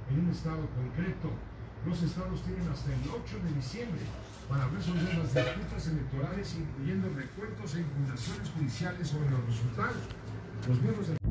en un estado concreto. Los estados tienen hasta el 8 de diciembre para resolver las disputas electorales, incluyendo recuentos e impugnaciones judiciales sobre los resultados. Los miembros del